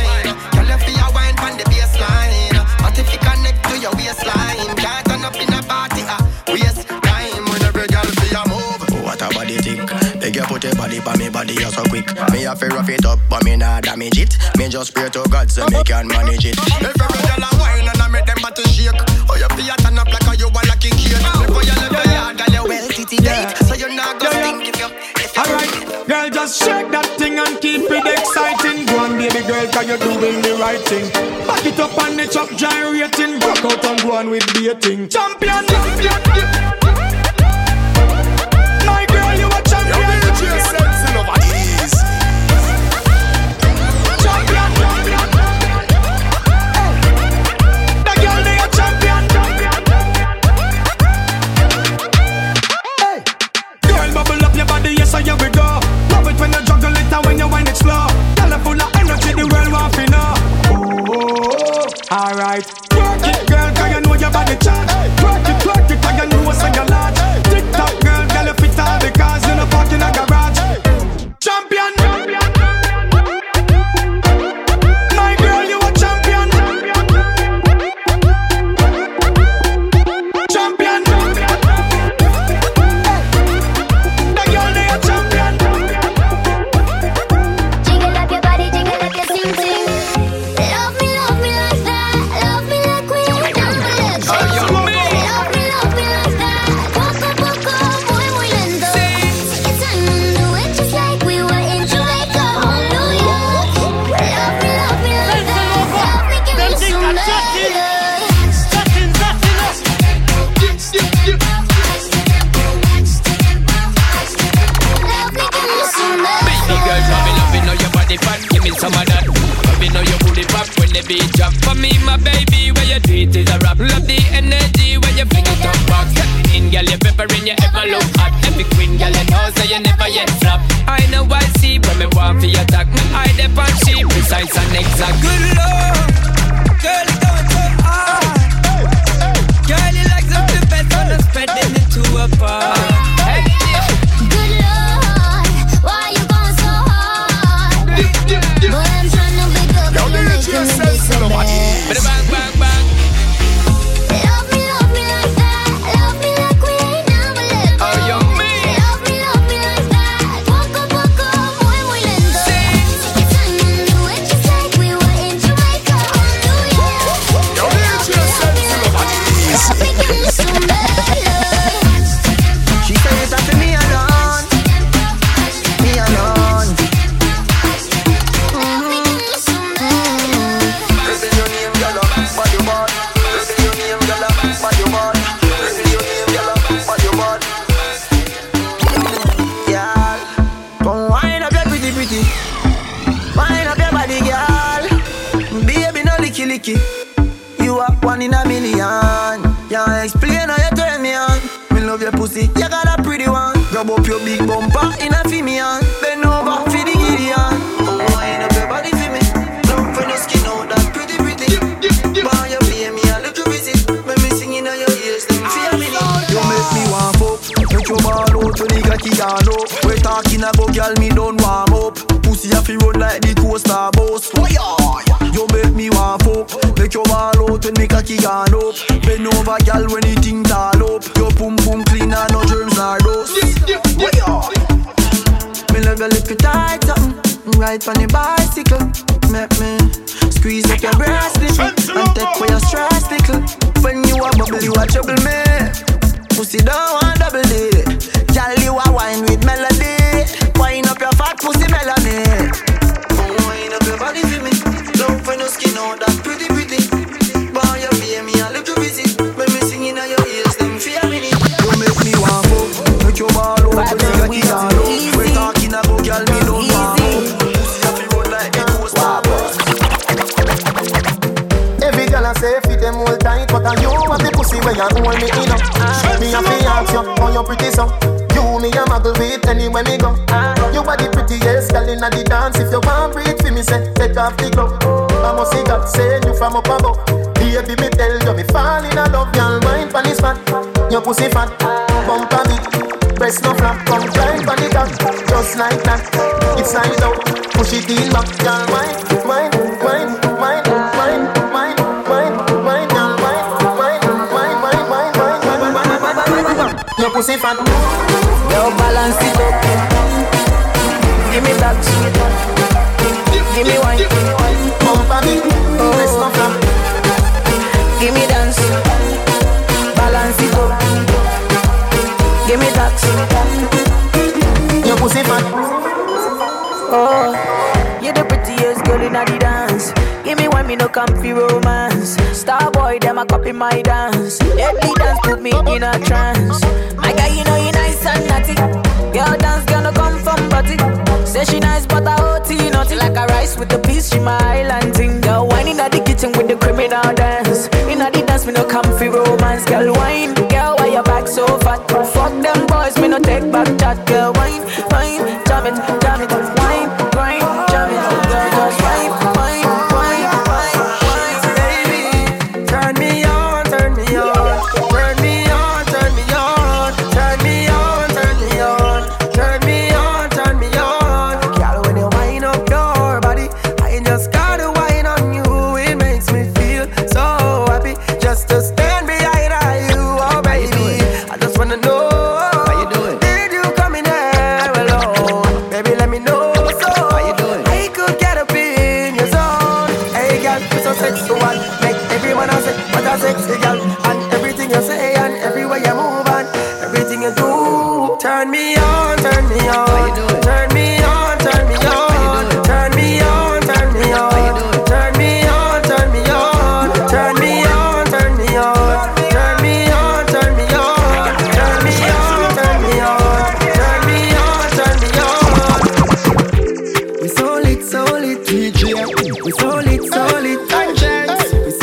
you put your body by me body, you're so quick. Me have to rough it up, but me not damage it. Me just pray to God so me can manage it. If every girl a wine and I make them body shake, oh you feel turn up like a you want like a kid. Before you leave your yard, girl you well titty date, so you not go think if you. Alright, girl, just shake that thing and keep it exciting. Go on, baby girl, cause you're doing the right thing. Back it up and it's up gyrating. Rock out and go on with baiting. Champion, champion. My girl, you a champion. You're really sensing over these. Champion, champion. The girl, they a champion. Hey, girl, bubble up your body, yes, so here we go. Love it when you juggle it and when you wind it slow. Girl, full of energy, the world want to know. Oh, alright. Work it, girl, cause you know your body charge. Work it, cause you know what's on your large. Tick tock, girl, you fit all because you know park in a garage. Champion. My girl, you a champion. Champion. The girl, they a champion. Jiggle up your body, jiggle up your sing sing. Love me like that. Love me like we don't believe. Love me like that. Poco, muy, muy lento. Take your time and do it just like we were in Jamaica or New York. Love me like that. Love me, give me some love. Baby girl, love me know your body fat. Give me some of that. Love me know your booty pop when the beat drop. For me, my baby, where you do it is a rap. Love the energy when you fling it up back. In girl, you peppering, you ever look hot. Every queen girl, you know so you never yet flop. I know I see when me want for your attack. Me eye the punch, she precise and exact. Good lord, girl, you going so hard. Girl, you like something better than spreading it to a bar. Good Lord, why you going so hard? Boy, I'm trying to wake up and you're making me be so bad. Bang, bang, bang. Love me like that. Love me like we ain't never let go. Oh, you mean? Love me like that. Poco, muy, muy lento. Take your time and do it just like we were in Jamaica or New York. Love me like that. Love me, give me some love. She said it's after me alone. Me alone. Baby, your name, girl, but you bought. Baby, your name, girl, but you bought. Baby, your name, girl, but you bought. Yeah, come wind up your pretty. Wind up your body, girl. Baby, no licky. You are one in a million. Can't explain how you turn me on. Me love your pussy, you got a pretty one. Grab up your big bumper in a female. Bend over for the Gideon. Wind up your body for me. Love when your skin out that pretty. Boy, you pay me a little visit. When me singing on your ears, let me feel me. You make me warm up. Make your ball out to the cocky all up. We talking about girl, me don't warm up. Pussy a fi run like the coaster bus. You make me warm up. Make your ball out when me cocky gone up. Bend over, girl, when the thing tall up. Your pum clean and no germs nor dust. Me love your little tight something. Ride on the bicycle. Make me squeeze up your breast little and take away your stress little. When you a bubble, you a trouble me. Pussy don't want double D. Girl, you a wine with melody. Wine up your fat pussy melody. Wine up your body for me. Love when your skin out that pretty. Boy, you pay me a little visit. When me singing on your ears, them feel me. You make me warm up. Make your ball out. Make your cocky all up. We talking about girl, me don't warm up. Pussy have to run like the coaster bus. Every girl I say fit them all tight, but you have the pussy when you hold me in up. Me a fi ask you, how you pretty so? You me a muggle with anywhere me go. You are the prettiest girl inna the dance. If you want breathe for me, say take off the glove. I must see God send you from up above. Baby, me tell you me fall in love. Y'all wine pon this fat, your pussy fat, bump on it, breast no flap, come climb pon the top, just like that. It's side out, push it in back, y'all wine, wine, wine, wine, wine, wine, wine, wine, y'all wine, wine, wine, wine, wine, wine, wine, wine, wine, wine, wine, wine, your pussy fat. Yo, balance it up. Give me blocks. Give me wine. Bump on me. Let's not flop. Give me dance. Balance it up. Give me tax. Your pussy fat. Oh, you're the prettiest girl in the dance. Give me one, me no comfy romance. Star boy, them a copy my dance. Every dance put me in a trance. My guy, you know you nice and naughty. Girl dance gonna come from body. Say she nice but I OT naughty. Like a rice with the peas, she my island thing. Girl wine in the kitchen with the criminal dance. In the dance, me no comfy romance. Girl wine, girl why your back so fat? Fuck them boys, me no take back chat. Girl wine, wine, jam it, wine, grind, jam it. Girl just wine, wine. Turn me on, turn me on. Turn me on, turn me on. Turn me on, turn me on. Turn me on, turn me on. Girl, when you wind up your body, I just gotta wine on you. It makes me feel so happy just to stand behind you, oh baby. I just wanna know how you doing. Did you come in there alone? Baby, let me know so how you doing. I could get up in your zone. Hey, girl, you're so sexual. Everyone I say, what a sexy girl. And everything you say and everywhere you move and everything you do. Turn me on, turn me on. Turn me on, turn me on. Turn me on, turn me on. Turn me on, turn me on. Turn me on, turn me on. Turn me on, turn me on. Turn me on, turn me on. Turn me on, turn me on. We so lit, DJ. We so lit, conscience.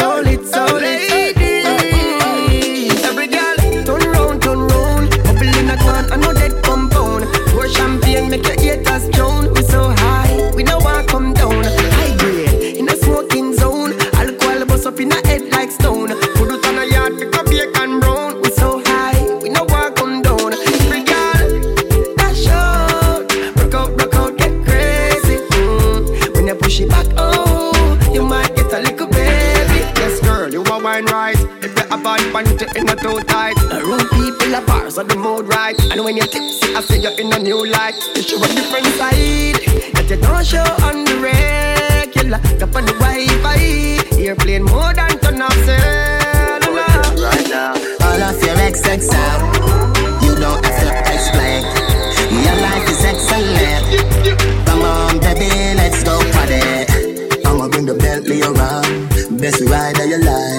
Make your haters drown. We so high, we know I come down. High grade, in a smoking zone. Alcohol bust up in a head like stone. Put it on a yard, pick up bacon brown. We so high, we know I come down. Every girl, dash out. Rock out, get crazy. When you push it back, oh, you might get a little baby. Yes girl, you are wine right. If you're a bad punch, you're in a too tight. Room people are bars on the mood right. And when you're tipsy, I say you're in a new light. You show a different side that you don't show on the regular. Up on the Wi-Fi, airplane more than turn off cellular. Right now, all of your XX out. You don't have to explain. Your life is excellent. Come on, baby, let's go party. I'ma bring the Bentley around. Best ride of your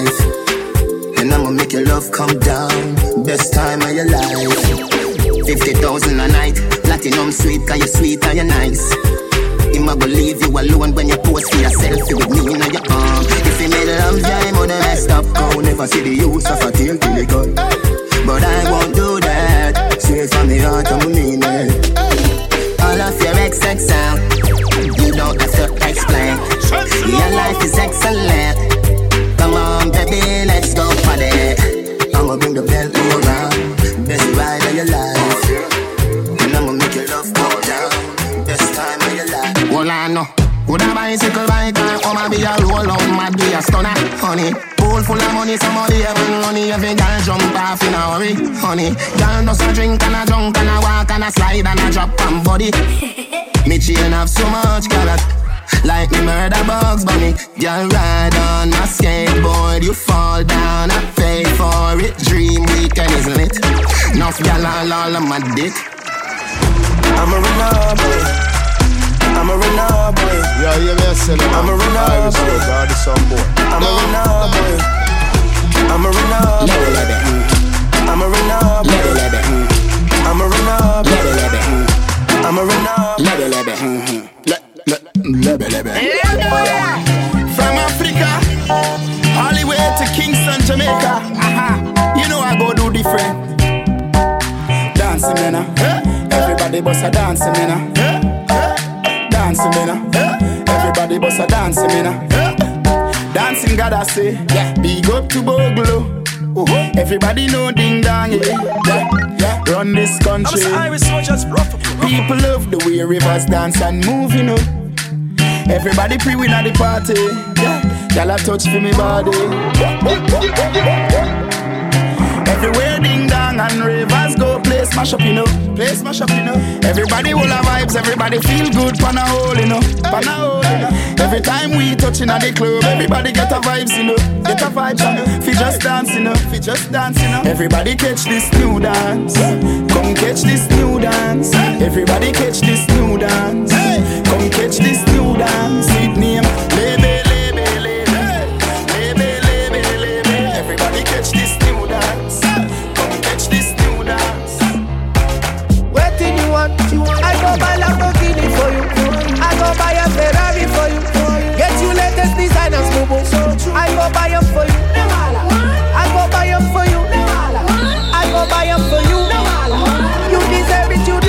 life. And I'ma make your love come down. Best time of your life. 50,000 a night. Platinum sweet, cause you're sweet and you're nice. I'ma believe you alone when you post for yourself with me in your arm. If you made love, yeah, I'm gonna mess up. I'll never see the use of a tail till it cut. But I won't do that. Straight from the heart, I'm mean it. All of your XX out. You don't have to explain. Your life is excellent. Come on, baby, let's go party. I'ma bring the Bentley around. Best ride of your life. And I'ma make your love go down. Best time of your life. Well, I know. Would a bicycle bike or I'ma be a roll out, mad be a stunner, honey. Pool full of money, somebody having money. Every girl jump off in a hurry, honey. Girl does a drink and a drunk and a walk and a slide and a drop on body. Me chain have so much color. Like me murder bugs bunny. Girl ride on my skateboard. You fall down, I pay for it. Dream weekend, isn't it? Enough girl all on my dick. I'm a runner boy. I'm a runner boy. Yeah, yeah, yes, I'm a runner boy. I'm a runner boy. I'm a runner boy. I'm a runner boy. I'm a runner boy. I'm a runner. From Africa, Hollywood to Kingston, Jamaica. You know I go do different. Dancing, man. Everybody bust a dancing, man. Dancing, man. Everybody bust a dancing, man. Dancing, God, I say. Big up to Boglo. Everybody know ding dong, yeah. Run this country. People love the way rivers dance and move, you know. Everybody pre-win at the party. Y'all a touch for me body. Everywhere ding dong and rivers go place mash up, you know. Place mash up, you know. Everybody will have vibes, everybody feel good, pan a hole, you know. Pan a hole, you know. Every time we touching at the club, everybody get a vibes, you know. Get a vibes, you know. Fi just dance, you know. Fi just dance, you know. Everybody catch this new dance. Come catch this new dance. Everybody catch this new dance. Come catch this new dance. It name Lebe, Lebe, Lebe. Lebe, Lebe, Lebe. Everybody catch this new dance. Come catch this new dance. Waiting you want? I go buy Lamborghini for you. I go buy a Ferrari for you. Get you latest designers, boo boo. I go buy them for you. I go buy them for you. I go buy them for you. You deserve it, you do.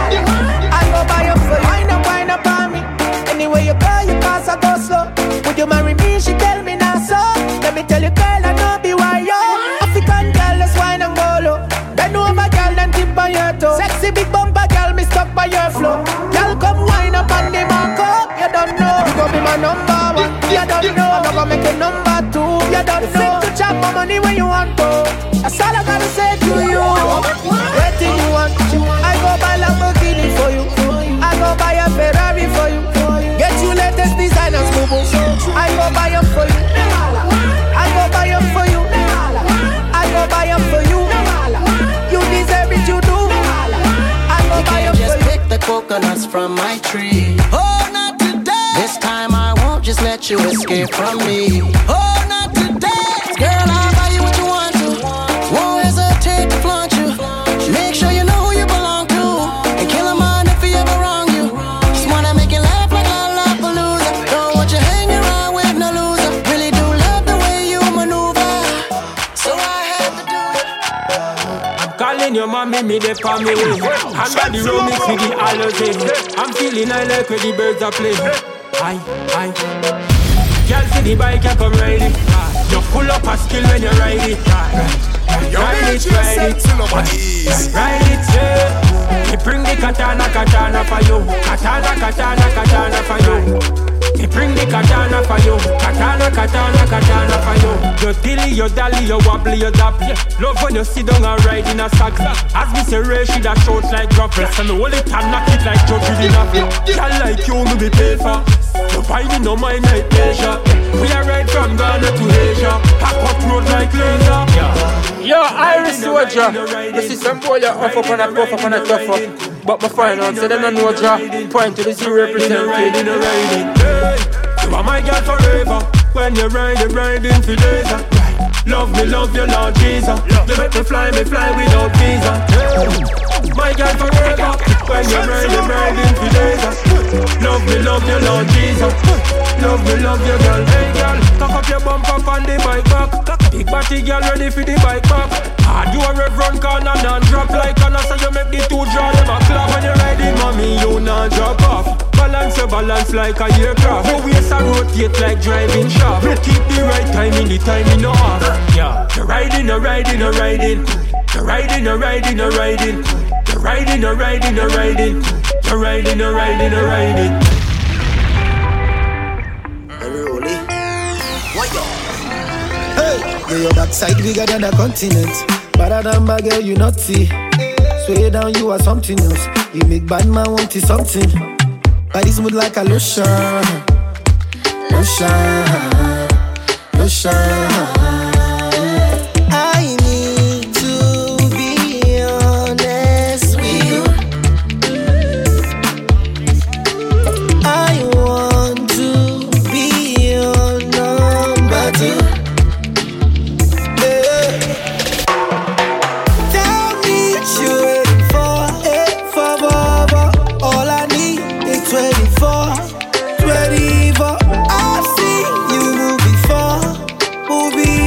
I go buy them for you. Wind up on me. Anyway you go, you pass, I go slow. Would you marry me? She tell me now so. Let me tell you, girl, I know be why yo. African girl, let's wine and go low. Bend over, girl, then tip on your toe. Sexy big bumper, girl, me stuck by your flow. Girl, come wine up on the marco. You don't know. You gon' be my number one. You don't know. I'm gonna make you number two. You don't know. To chop my money when you want to. That's all I gotta say to you. Waiting you want. I go buy Lamborghini for you. I go buy a Ferrari for you. Get you latest designers, boo boo. I go buy them for you. I go buy them for you. I go buy them for you. You deserve it, you do. I go buy them for you. Just pick the coconuts from my tree. Oh, not today. This time I won't just let you escape from me. Oh, not today. Girl, I'll buy you what you want to. Won't hesitate to flaunt you. Make sure you know who you belong to. And kill a man if he ever wrong you. Just wanna make you laugh like Lollapalooza. Don't want you hang around with no loser. Really do love the way you maneuver. So I had to do it. I'm calling your mommy, me dey for me. I'm by the road, me see the allergy. I'm feeling I like where the birds are playing. Aye. Girl, see the bike, you come ride it. You pull up a skill when you ride it. Ride it. Ride it, yeah. Me bring the katana for you. Katana for you. Me bring the katana for you. Katana for you. You dilly, you dally, you wobbly, you dap. Love when you sit down and ride in a sack. As me say, Ray, she that shouts like droplets. And me hold it and knock it like Joe Dinafi. Girl like you, me be paid for. You buy me no mind like pleasure. We are right from Ghana to Asia. Pack up road like laser. Yo, Irish soldier. You see some boy you off up and a puff up and a tough up. But my final say them no draw. Point to the zero represented. You are my girl forever. When you're riding for days. Love me, love you, Lord Jesus. You make me fly without visa. My girl forever. When you're riding for days. Love me, love you, Lord Jesus. Love me, love you, girl. Hey, girl, cock up your bump up on the bike back. Big body girl ready for the bike back. Hard you a rev run corner and drop like Anna. So you make the two draw them a clap. When you're riding, mommy, you not drop off. Balance like a aircraft. Your waist a rotate like driving shaft. Keep the right time in the time in no off. Yeah, you're riding. You're riding. You're riding. You're riding. You're riding. You're riding. You're riding. You're riding. You're riding. You're riding. You're riding. You're riding. Hey, your backside bigger than the continent. Better than my girl, you naughty. Sway down, you are something else. You make bad man want to something. Body smooth like a lotion. I need to be honest with you. I want to be your number two. Tell me you're waiting for it forever. All I need is 24. I've seen you move before.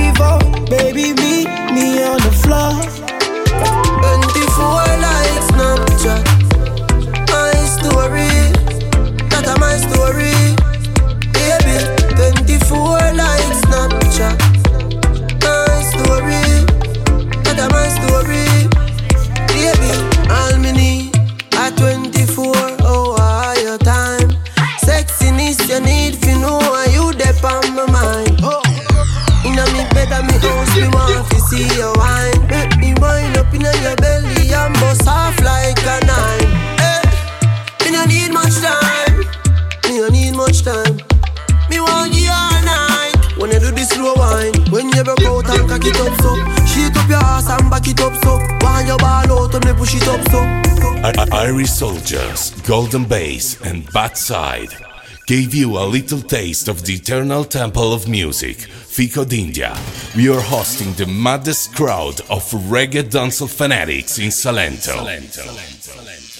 back it up so. When you ball out, when me push it up so. Irish Soldiers, Golden Bass and Bad Side gave you a little taste of the eternal temple of music, Fico d'India. We are hosting the maddest crowd of reggae dancehall fanatics in Salento.